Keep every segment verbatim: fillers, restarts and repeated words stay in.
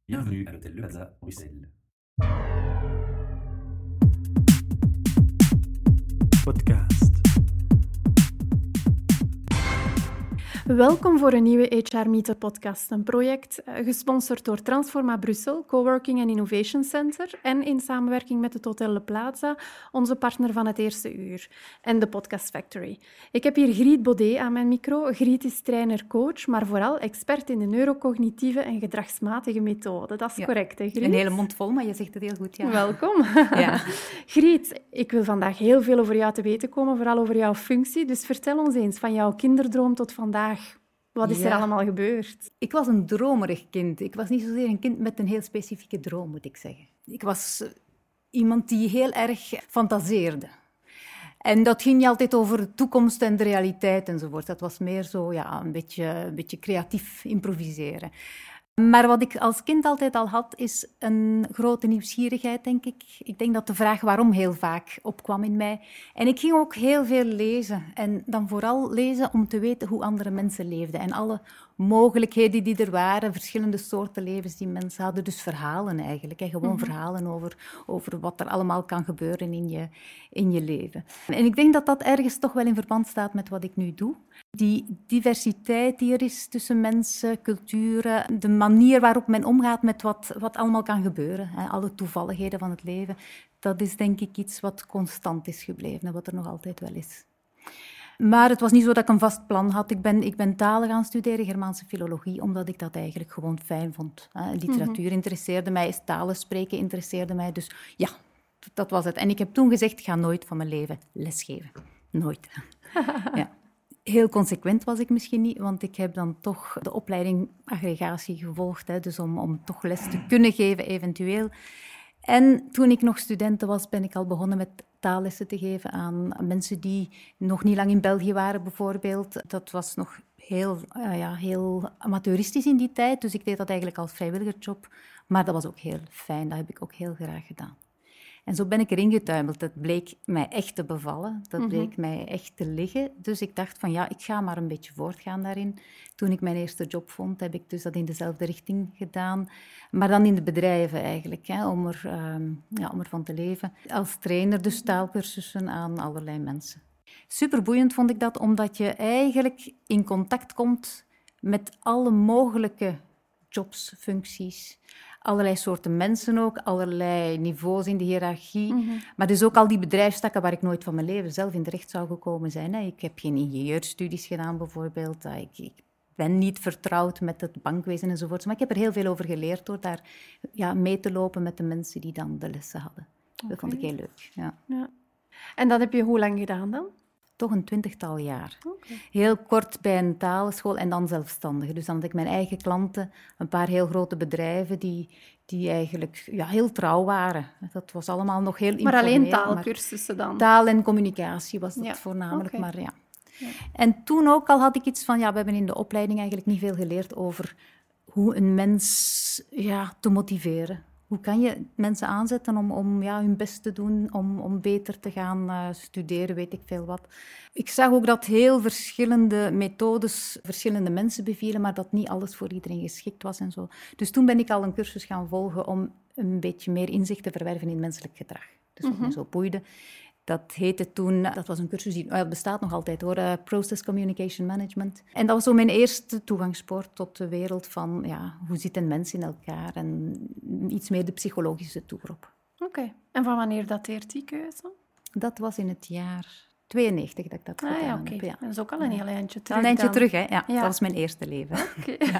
Bienvenue à l'hôtel Le Plaza, Bruxelles. Podcast. Welkom voor een nieuwe H R Meetup podcast, een project uh, gesponsord door Transforma Brussel, Coworking and Innovation Center en in samenwerking met het Hotel Le Plaza, onze partner van het eerste uur, en de Podcast Factory. Ik heb hier Griet Baudet aan mijn micro. Griet is trainer-coach, maar vooral expert in de neurocognitieve en gedragsmatige methode. Dat is Ja. correct, hè, Griet? Een hele mond vol, maar je zegt het heel goed, ja. Welkom. Ja. Griet, ik wil vandaag heel veel over jou te weten komen, vooral over jouw functie. Dus vertel ons eens, van jouw kinderdroom tot vandaag. Wat is Ja. er allemaal gebeurd? Ik was een dromerig kind. Ik was niet zozeer een kind met een heel specifieke droom, moet ik zeggen. Ik was uh, iemand die heel erg fantaseerde. En dat ging niet altijd over de toekomst en de realiteit enzovoort. Dat was meer zo, ja, een beetje, een beetje creatief improviseren. Maar wat ik als kind altijd al had, is een grote nieuwsgierigheid, denk ik. Ik denk dat de vraag waarom heel vaak opkwam in mij. En ik ging ook heel veel lezen. En dan vooral lezen om te weten hoe andere mensen leefden. En alle mogelijkheden die er waren, verschillende soorten levens die mensen hadden. Dus verhalen eigenlijk. En gewoon mm-hmm. verhalen over, over wat er allemaal kan gebeuren in je, in je leven. En ik denk dat dat ergens toch wel in verband staat met wat ik nu doe. Die diversiteit die er is tussen mensen, culturen, de manier waarop men omgaat met wat, wat allemaal kan gebeuren, hè, alle toevalligheden van het leven, dat is denk ik iets wat constant is gebleven en wat er nog altijd wel is. Maar het was niet zo dat ik een vast plan had. Ik ben, ik ben talen gaan studeren, Germaanse filologie, omdat ik dat eigenlijk gewoon fijn vond. Hè. Literatuur mm-hmm. interesseerde mij, talen spreken interesseerde mij, dus ja, dat was het. En ik heb toen gezegd, ik ga nooit van mijn leven lesgeven. Nooit. Ja. Heel consequent was ik misschien niet, want ik heb dan toch de opleiding aggregatie gevolgd, hè, dus om, om toch les te kunnen geven eventueel. En toen ik nog studenten was, ben ik al begonnen met taallessen te geven aan mensen die nog niet lang in België waren bijvoorbeeld. Dat was nog heel, uh, ja, heel amateuristisch in die tijd, dus ik deed dat eigenlijk als vrijwilligersjob. Maar dat was ook heel fijn, dat heb ik ook heel graag gedaan. En zo ben ik erin getuimeld. Dat bleek mij echt te bevallen. Dat bleek mm-hmm. mij echt te liggen. Dus ik dacht van ja, ik ga maar een beetje voortgaan daarin. Toen ik mijn eerste job vond, heb ik dus dat in dezelfde richting gedaan. Maar dan in de bedrijven eigenlijk, hè, om, er, um, ja, om ervan te leven. Als trainer dus taalkursussen aan allerlei mensen. Superboeiend vond ik dat, omdat je eigenlijk in contact komt met alle mogelijke jobs, functies, allerlei soorten mensen ook, allerlei niveaus in de hiërarchie. Mm-hmm. Maar dus ook al die bedrijfstakken waar ik nooit van mijn leven zelf in terecht zou gekomen zijn. Hè. Ik heb geen ingenieurstudies gedaan bijvoorbeeld. Ik, ik ben niet vertrouwd met het bankwezen enzovoort. Maar ik heb er heel veel over geleerd door daar ja, mee te lopen met de mensen die dan de lessen hadden. Okay. Dat vond ik heel leuk. Ja. Ja. En dat heb je hoe lang gedaan dan? Toch een twintigtal jaar. Okay. Heel kort bij een taalschool en dan zelfstandig. Dus dan had ik mijn eigen klanten, een paar heel grote bedrijven die, die eigenlijk ja, heel trouw waren. Dat was allemaal nog heel informeel. Maar alleen taalkursussen dan? Taal en communicatie was dat ja. voornamelijk, okay. maar ja. ja. En toen ook al had ik iets van, ja, we hebben in de opleiding eigenlijk niet veel geleerd over hoe een mens ja, te motiveren. Hoe kan je mensen aanzetten om, om ja, hun best te doen, om, om beter te gaan uh, studeren, weet ik veel wat. Ik zag ook dat heel verschillende methodes verschillende mensen bevielen, maar dat niet alles voor iedereen geschikt was en zo. Dus toen ben ik al een cursus gaan volgen om een beetje meer inzicht te verwerven in menselijk gedrag. Dus wat mm-hmm. me zo boeide. Dat heette toen, dat was een cursus die het bestaat nog altijd hoor, uh, Process Communication Management. En dat was zo mijn eerste toegangspoort tot de wereld van, ja, hoe zit een mens in elkaar en iets meer de psychologische toer op. Oké, okay. En van wanneer dateert die keuze? Dat was in het jaar tweeënnegentig dat ik dat ah, gedaan ja, okay. heb. Ja. Dat is ook al een heel eindje terug. Een eindje dan. terug, hè. Ja, ja. Dat was mijn eerste leven. Okay. Ja.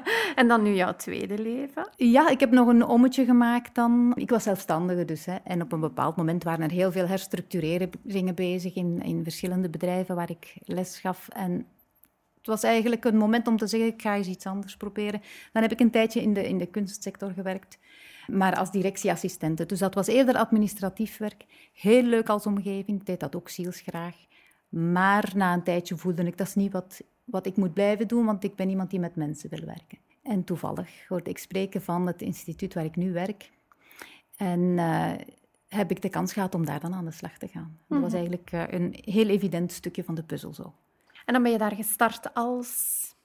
En dan nu jouw tweede leven? Ja, ik heb nog een ommetje gemaakt dan. Ik was zelfstandige dus. Hè. En op een bepaald moment waren er heel veel herstructureringen bezig in, in verschillende bedrijven waar ik les gaf. En het was eigenlijk een moment om te zeggen, ik ga eens iets anders proberen. Dan heb ik een tijdje in de, in de kunstsector gewerkt. Maar als directieassistente. Dus dat was eerder administratief werk. Heel leuk als omgeving. Ik deed dat ook zielsgraag. Maar na een tijdje voelde ik, dat is niet wat, wat ik moet blijven doen, want ik ben iemand die met mensen wil werken. En toevallig hoorde ik spreken van het instituut waar ik nu werk. En uh, heb ik de kans gehad om daar dan aan de slag te gaan. Mm-hmm. Dat was eigenlijk uh, een heel evident stukje van de puzzel zo. En dan ben je daar gestart als...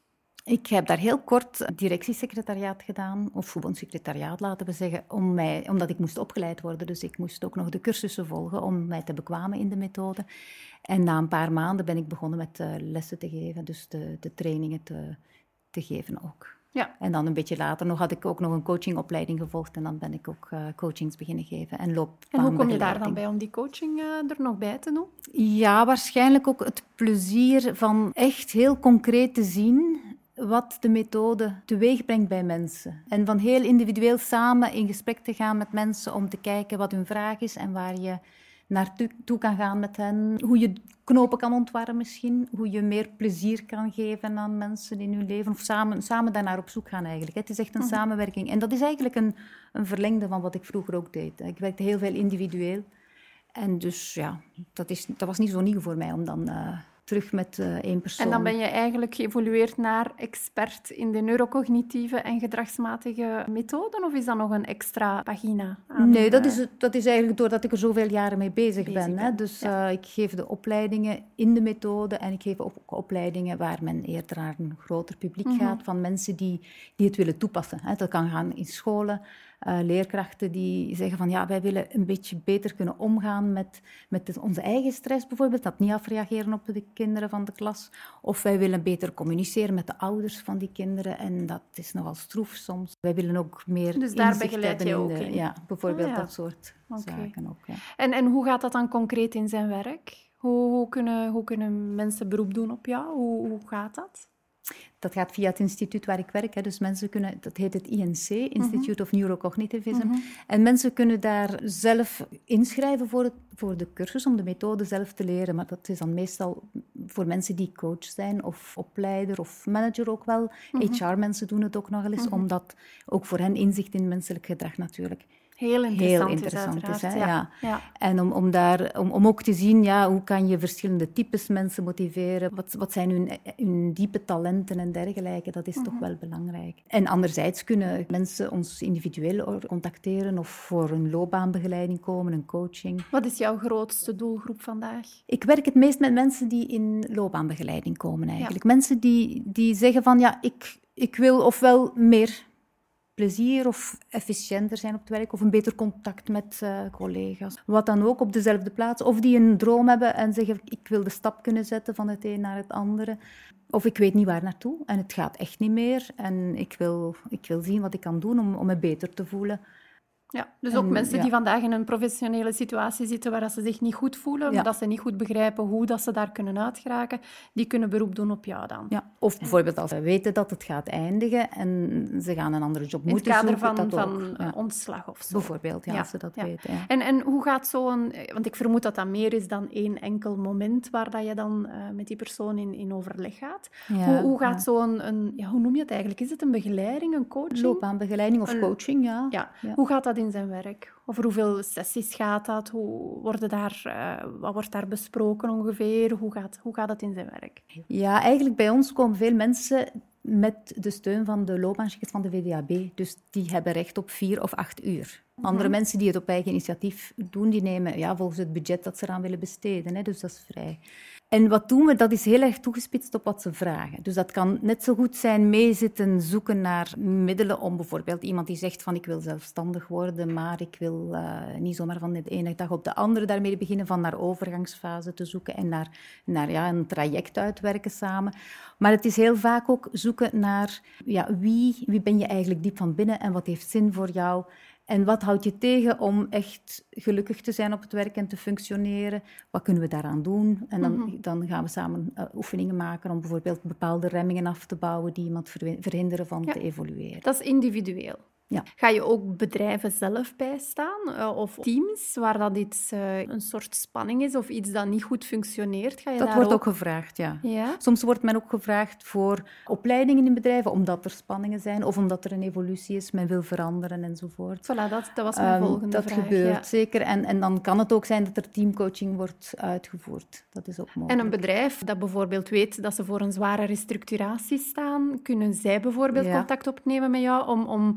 Ik heb daar heel kort directiesecretariaat gedaan, of verbondssecretariaat laten we zeggen, om mij, omdat ik moest opgeleid worden. Dus ik moest ook nog de cursussen volgen om mij te bekwamen in de methode. En na een paar maanden ben ik begonnen met uh, lessen te geven, dus de, de trainingen te, te geven ook. Ja. En dan een beetje later nog had ik ook nog een coachingopleiding gevolgd en dan ben ik ook uh, coachings beginnen geven en loopbaanbegeleiding. En hoe kom je daar dan bij om die coaching uh, er nog bij te doen? Ja, waarschijnlijk ook het plezier van echt heel concreet te zien wat de methode teweeg brengt bij mensen. En van heel individueel samen in gesprek te gaan met mensen om te kijken wat hun vraag is en waar je naartoe kan gaan met hen. Hoe je knopen kan ontwarren misschien. Hoe je meer plezier kan geven aan mensen in hun leven. Of samen, samen daarnaar op zoek gaan eigenlijk. Het is echt een mm-hmm. samenwerking. En dat is eigenlijk een, een verlengde van wat ik vroeger ook deed. Ik werkte heel veel individueel. En dus ja, dat, is, dat was niet zo nieuw voor mij om dan... Uh, terug met uh, één persoon. En dan ben je eigenlijk geëvolueerd naar expert in de neurocognitieve en gedragsmatige methoden? Of is dat nog een extra pagina? Aan nee, dat is, dat is eigenlijk doordat ik er zoveel jaren mee bezig, bezig ben. ben. Hè. Dus ja. uh, ik geef de opleidingen in de methode en ik geef ook opleidingen waar men eerder naar een groter publiek mm-hmm. gaat, van mensen die, die het willen toepassen. Hè. Dat kan gaan in scholen. Uh, leerkrachten die zeggen van ja, wij willen een beetje beter kunnen omgaan met, met de, onze eigen stress bijvoorbeeld, dat niet afreageren op de kinderen van de klas. Of wij willen beter communiceren met de ouders van die kinderen en dat is nogal stroef soms. Wij willen ook meer dus daar begeleid je ook in, de, in? Ja, bijvoorbeeld oh, ja. dat soort okay. zaken ook. Ja. En, en hoe gaat dat dan concreet in zijn werk? Hoe, hoe, kunnen, hoe kunnen mensen beroep doen op jou? Hoe, hoe gaat dat? Dat gaat via het instituut waar ik werk. Hè. Dus mensen kunnen, dat heet het I N C, Institute mm-hmm. of Neurocognitivism. Mm-hmm. En mensen kunnen daar zelf inschrijven voor, het, voor de cursus, om de methode zelf te leren. Maar dat is dan meestal voor mensen die coach zijn, of opleider, of manager ook wel. Mm-hmm. H R-mensen doen het ook nog eens, mm-hmm. omdat ook voor hen inzicht in menselijk gedrag natuurlijk... Heel interessant, Heel interessant is, is, hè? Ja. Ja. Ja. En om, om, daar, om, om ook te zien, ja, hoe kan je verschillende types mensen motiveren? Wat, wat zijn hun, hun diepe talenten en dergelijke? Dat is mm-hmm. toch wel belangrijk. En anderzijds kunnen mensen ons individueel contacteren of voor een loopbaanbegeleiding komen, een coaching. Wat is jouw grootste doelgroep vandaag? Ik werk het meest met mensen die in loopbaanbegeleiding komen eigenlijk. Ja. Mensen die, die zeggen van, ja, ik, ik wil ofwel meer... plezier of efficiënter zijn op het werk of een beter contact met uh, collega's. Wat dan ook op dezelfde plaats. Of die een droom hebben en zeggen, ik wil de stap kunnen zetten van het een naar het andere. Of ik weet niet waar naartoe en het gaat echt niet meer. En ik wil, ik wil zien wat ik kan doen om, om me beter te voelen. Ja, dus ook en, mensen ja. die vandaag in een professionele situatie zitten waar ze zich niet goed voelen, ja. maar dat ze niet goed begrijpen hoe dat ze daar kunnen uitgeraken, die kunnen beroep doen op jou dan. Ja. Of bijvoorbeeld als ze weten dat het gaat eindigen en ze gaan een andere job moeten zoeken. In het zoeken, kader van, van ja. ja. ontslag of zo. Bijvoorbeeld, ja, ja. als ze dat ja. weten. Ja. En, en hoe gaat zo'n... Want ik vermoed dat dat meer is dan één enkel moment waar dat je dan uh, met die persoon in, in overleg gaat. Ja. Hoe, hoe gaat ja. zo'n... Een, ja, hoe noem je het eigenlijk? Is het een begeleiding, een coaching? Loopbaanbegeleiding of een, coaching, ja. ja. ja. Hoe gaat dat in zijn werk? Over hoeveel sessies gaat dat? Hoe worden daar, uh, wat wordt daar besproken ongeveer? Hoe gaat, hoe gaat dat in zijn werk? Ja, eigenlijk bij ons komen veel mensen met de steun van de loopbaanchecks van de V D A B. Dus die hebben recht op vier of acht uur. Andere mm-hmm. mensen die het op eigen initiatief doen, die nemen ja, volgens het budget dat ze eraan willen besteden. Hè, dus dat is vrij. En wat doen we? Dat is heel erg toegespitst op wat ze vragen. Dus dat kan net zo goed zijn meezitten zoeken naar middelen om bijvoorbeeld iemand die zegt van ik wil zelfstandig worden, maar ik wil uh, niet zomaar van de ene dag op de andere daarmee beginnen, van naar overgangsfase te zoeken en naar, naar ja, een traject uitwerken samen. Maar het is heel vaak ook zoeken naar ja, wie, wie ben je eigenlijk diep van binnen en wat heeft zin voor jou. En wat houdt je tegen om echt gelukkig te zijn op het werk en te functioneren? Wat kunnen we daaraan doen? En dan, mm-hmm. dan gaan we samen uh, oefeningen maken om bijvoorbeeld bepaalde remmingen af te bouwen die iemand ver- verhinderen van ja. te evolueren. Dat is individueel. Ja. Ga je ook bedrijven zelf bijstaan uh, of teams waar dat iets, uh, een soort spanning is of iets dat niet goed functioneert? Ga je dat daar wordt ook... ook gevraagd, ja. ja. Soms wordt men ook gevraagd voor opleidingen in bedrijven, omdat er spanningen zijn of omdat er een evolutie is, men wil veranderen enzovoort. Voilà, dat, dat was mijn um, volgende dat vraag. Dat gebeurt, ja. zeker. En, en dan kan het ook zijn dat er teamcoaching wordt uitgevoerd. Dat is ook mogelijk. En een bedrijf dat bijvoorbeeld weet dat ze voor een zware restructuratie staan, kunnen zij bijvoorbeeld ja. contact opnemen met jou om, om de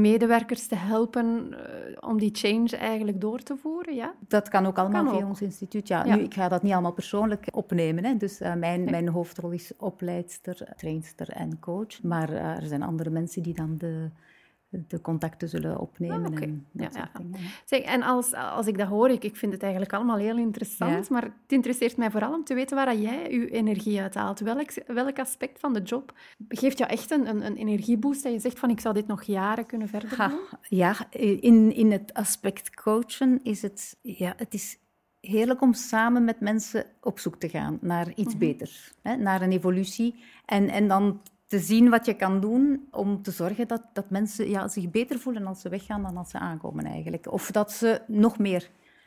medewerkers te helpen uh, om die change eigenlijk door te voeren, ja? Dat kan ook allemaal kan via ook. ons instituut. Ja, Ja. Nu, ik ga dat niet allemaal persoonlijk opnemen. Hè. Dus uh, mijn, mijn hoofdrol is opleidster, trainster en coach. Maar uh, er zijn andere mensen die dan de... de contacten zullen opnemen. Ah, okay. en dat ja, soort ja. dingen. Zeg, en als, als ik dat hoor, ik, ik vind het eigenlijk allemaal heel interessant, Ja. maar het interesseert mij vooral om te weten waar jij je energie uithaalt. Welk, welk aspect van de job geeft jou echt een, een, een energieboost dat je zegt van ik zou dit nog jaren kunnen verder Ha, doen? ja, in, in het aspect coachen is het, ja, het is heerlijk om samen met mensen op zoek te gaan naar iets Mm-hmm. beters, hè, naar een evolutie. En, en dan te zien wat je kan doen om te zorgen dat, dat mensen ja, zich beter voelen als ze weggaan dan als ze aankomen eigenlijk. Of dat ze nog meer,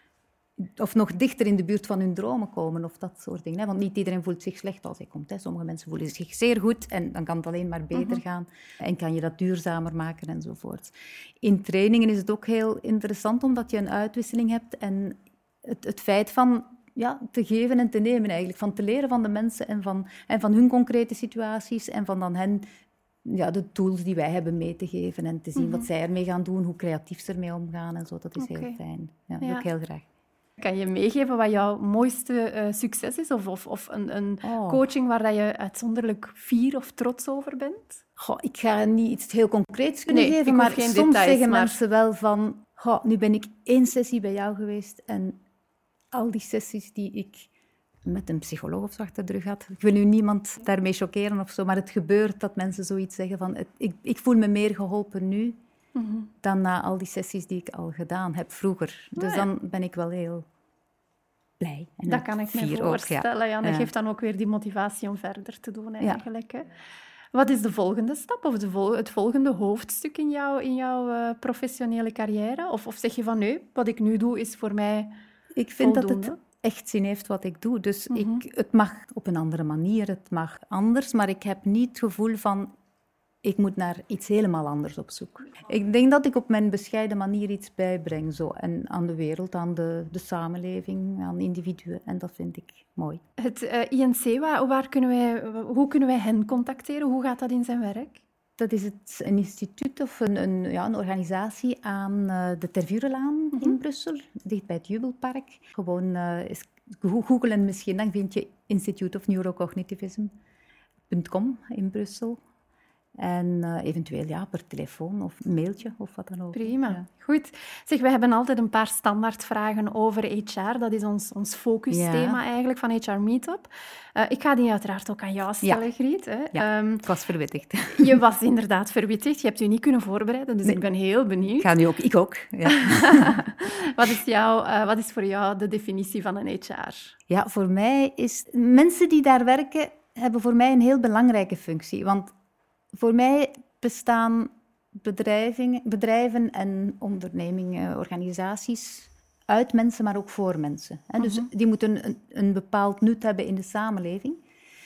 of nog dichter in de buurt van hun dromen komen of dat soort dingen. Hè. Want niet iedereen voelt zich slecht als hij komt. Hè. Sommige mensen voelen zich zeer goed en dan kan het alleen maar beter Mm-hmm. gaan. En kan je dat duurzamer maken enzovoort. In trainingen is het ook heel interessant omdat je een uitwisseling hebt en het, het feit van... Ja, te geven en te nemen eigenlijk. Van te leren van de mensen en van, en van hun concrete situaties en van dan hen ja, de tools die wij hebben mee te geven en te zien Mm-hmm. wat zij ermee gaan doen, hoe creatief ze ermee omgaan en zo. Dat is Oké. heel fijn. Ja, Ja. ook heel graag. Kan je meegeven wat jouw mooiste uh, succes is? Of, of, of een, een Oh. coaching waar dat je uitzonderlijk fier of trots over bent? Goh, ik ga niet iets heel concreets kunnen Nee, ik geven, hoef maar geen soms details, zeggen maar- mensen wel van... Goh, nu ben ik één sessie bij jou geweest en al die sessies die ik met een psycholoog of zo achter de rug had. Ik wil nu niemand daarmee choqueren of zo, maar het gebeurt dat mensen zoiets zeggen van... Het, ik, ik voel me meer geholpen nu Mm-hmm. dan na al die sessies die ik al gedaan heb vroeger. Dus Ah, ja. dan ben ik wel heel blij. En Dat kan ik me fier ook, ja. voorstellen. Ja. Dat Ja. geeft dan ook weer die motivatie om verder te doen eigenlijk. Hè. Wat is de volgende stap of de vol- het volgende hoofdstuk in, jou, in jouw uh, professionele carrière? Of, of zeg je van nee, wat ik nu doe is voor mij Ik vind voldoende? dat het echt zin heeft wat ik doe. Dus Mhm. ik, het mag op een andere manier, het mag anders, maar ik heb niet het gevoel van... Ik moet naar iets helemaal anders op zoek. Ik denk dat ik op mijn bescheiden manier iets bijbreng. Zo. En aan de wereld, aan de, de samenleving, aan individuen. En dat vind ik mooi. Het uh, I N C, waar, waar kunnen wij, hoe kunnen wij hen contacteren? Hoe gaat dat in zijn werk? Dat is het, een instituut of een, een, ja, een organisatie aan uh, de Tervurenlaan Mhm. in Brussel, dicht bij het Jubelpark. Gewoon uh, eens googelen misschien, dan vind je Institute of Neurocognitivism punt com in Brussel. En uh, eventueel ja, per telefoon of mailtje of wat dan ook. Prima, Ja. goed. Zeg, we hebben altijd een paar standaardvragen over H R. Dat is ons, ons focusthema Ja. eigenlijk van H R Meetup. Uh, ik ga die uiteraard ook aan jou stellen, Ja. Griet. Hè. Ja. Um, Ik was verwittigd. je was inderdaad verwittigd. Je hebt je niet kunnen voorbereiden, dus Nee. ik ben heel benieuwd. Ik ga nu ook, ik ook. Ja. wat, is jouw, uh, wat is voor jou de definitie van een H R? Ja, voor mij is... Mensen die daar werken, hebben voor mij een heel belangrijke functie. Want voor mij bestaan bedrijven, bedrijven en ondernemingen, organisaties uit mensen, maar ook voor mensen. Hè? Dus Mhm. die moeten een, een bepaald nut hebben in de samenleving.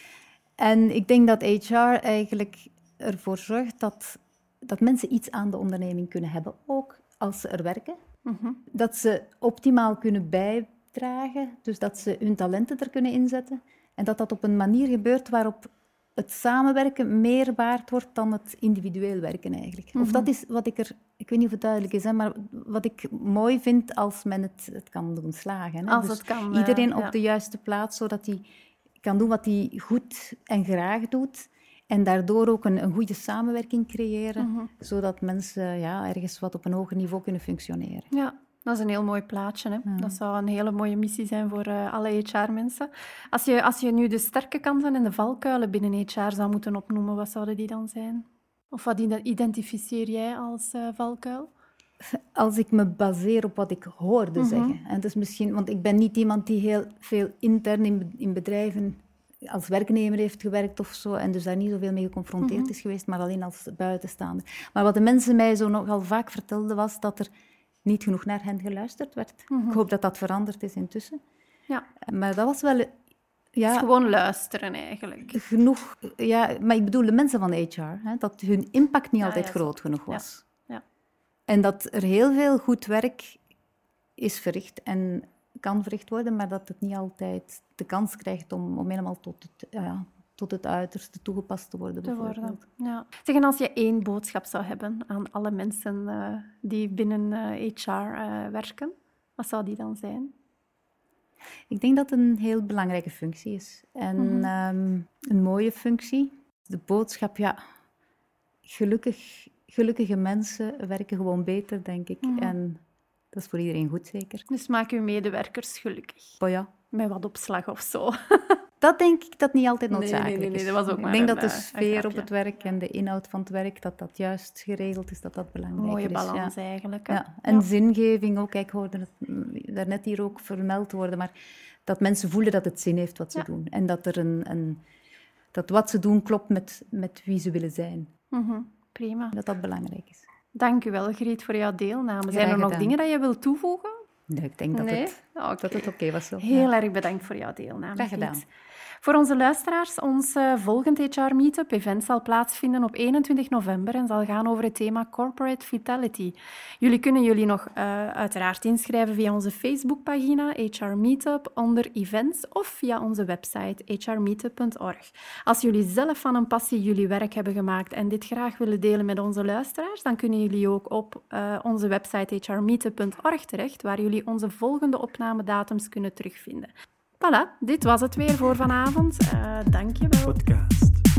En ik denk dat H R eigenlijk ervoor zorgt dat, dat mensen iets aan de onderneming kunnen hebben, ook als ze er werken. Mhm. Dat ze optimaal kunnen bijdragen, dus dat ze hun talenten er kunnen inzetten. En dat dat op een manier gebeurt waarop het samenwerken meer waard wordt dan het individueel werken eigenlijk. Mhm. Of dat is wat ik er... Ik weet niet of het duidelijk is, hè, maar wat ik mooi vind als men het, het kan doen slagen. Hè. Als Dus het kan, uh, iedereen ja. op de juiste plaats, zodat hij kan doen wat hij goed en graag doet. En daardoor ook een, een goede samenwerking creëren, Mhm. zodat mensen ja, ergens wat op een hoger niveau kunnen functioneren. Ja, dat is een heel mooi plaatje. Hè? Ja. Dat zou een hele mooie missie zijn voor uh, alle H R-mensen. Als je, als je nu de sterke kanten en de valkuilen binnen H R zou moeten opnoemen, wat zouden die dan zijn? Of wat identificeer jij als uh, valkuil? Als ik me baseer op wat ik hoorde Mhm. zeggen. En dat is misschien, want ik ben niet iemand die heel veel intern in, in bedrijven als werknemer heeft gewerkt of zo, en dus daar niet zoveel mee geconfronteerd Mhm. is geweest, maar alleen als buitenstaander. Maar wat de mensen mij zo nogal vaak vertelden, was dat er niet genoeg naar hen geluisterd werd. Mhm. Ik hoop dat dat veranderd is intussen. Ja, Maar dat was wel... het Ja, is gewoon luisteren eigenlijk. genoeg... Ja, maar ik bedoel de mensen van H R, hè, dat hun impact niet Ja, altijd ja, groot genoeg Ja. was. Ja. En dat er heel veel goed werk is verricht en kan verricht worden, maar dat het niet altijd de kans krijgt om, om helemaal tot het, ja, tot het uiterste toegepast te worden. te bijvoorbeeld. worden. Ja. Zeg, en als je één boodschap zou hebben aan alle mensen uh, die binnen uh, H R uh, werken, wat zou die dan zijn? Ik denk dat het een heel belangrijke functie is. En mm-hmm. um, een mooie functie. De boodschap, ja... Gelukkig, gelukkige mensen werken gewoon beter, denk ik. Mm-hmm. En dat is voor iedereen goed, zeker. Dus maak uw medewerkers gelukkig. Oh ja. Met wat opslag of zo. Dat denk ik dat niet altijd noodzakelijk nee, nee, nee, is. dat was ook ik maar denk een, dat de sfeer op het werk ja. en de inhoud van het werk, dat dat juist geregeld is, dat dat belangrijk Mooie is. Mooie balans ja. eigenlijk. Hè? Ja. En ja. zingeving ook. Ik hoorde het daarnet hier ook vermeld worden, maar dat mensen voelen dat het zin heeft wat ze ja. doen. En dat, er een, een, dat wat ze doen klopt met, met wie ze willen zijn. Mm-hmm. Prima. Dat dat belangrijk is. Dank u wel, Griet, voor jouw deelname. Graag Zijn er nog gedaan. dingen dat je wilt toevoegen? Nee, ik denk dat nee? het, okay. dat het oké was. Zo. Heel ja. erg bedankt voor jouw deelname. Graag gedaan. Griet. Voor onze luisteraars, ons uh, volgend H R Meetup event zal plaatsvinden op eenentwintig november en zal gaan over het thema Corporate Vitality. Jullie kunnen jullie nog uh, uiteraard inschrijven via onze Facebookpagina H R Meetup onder events of via onze website h r meetup punt org. Als jullie zelf van een passie jullie werk hebben gemaakt en dit graag willen delen met onze luisteraars, dan kunnen jullie ook op uh, onze website h r meetup punt org terecht, waar jullie onze volgende opnamedatums kunnen terugvinden. Voilà, dit was het weer voor vanavond. Uh, dank je wel. Podcast.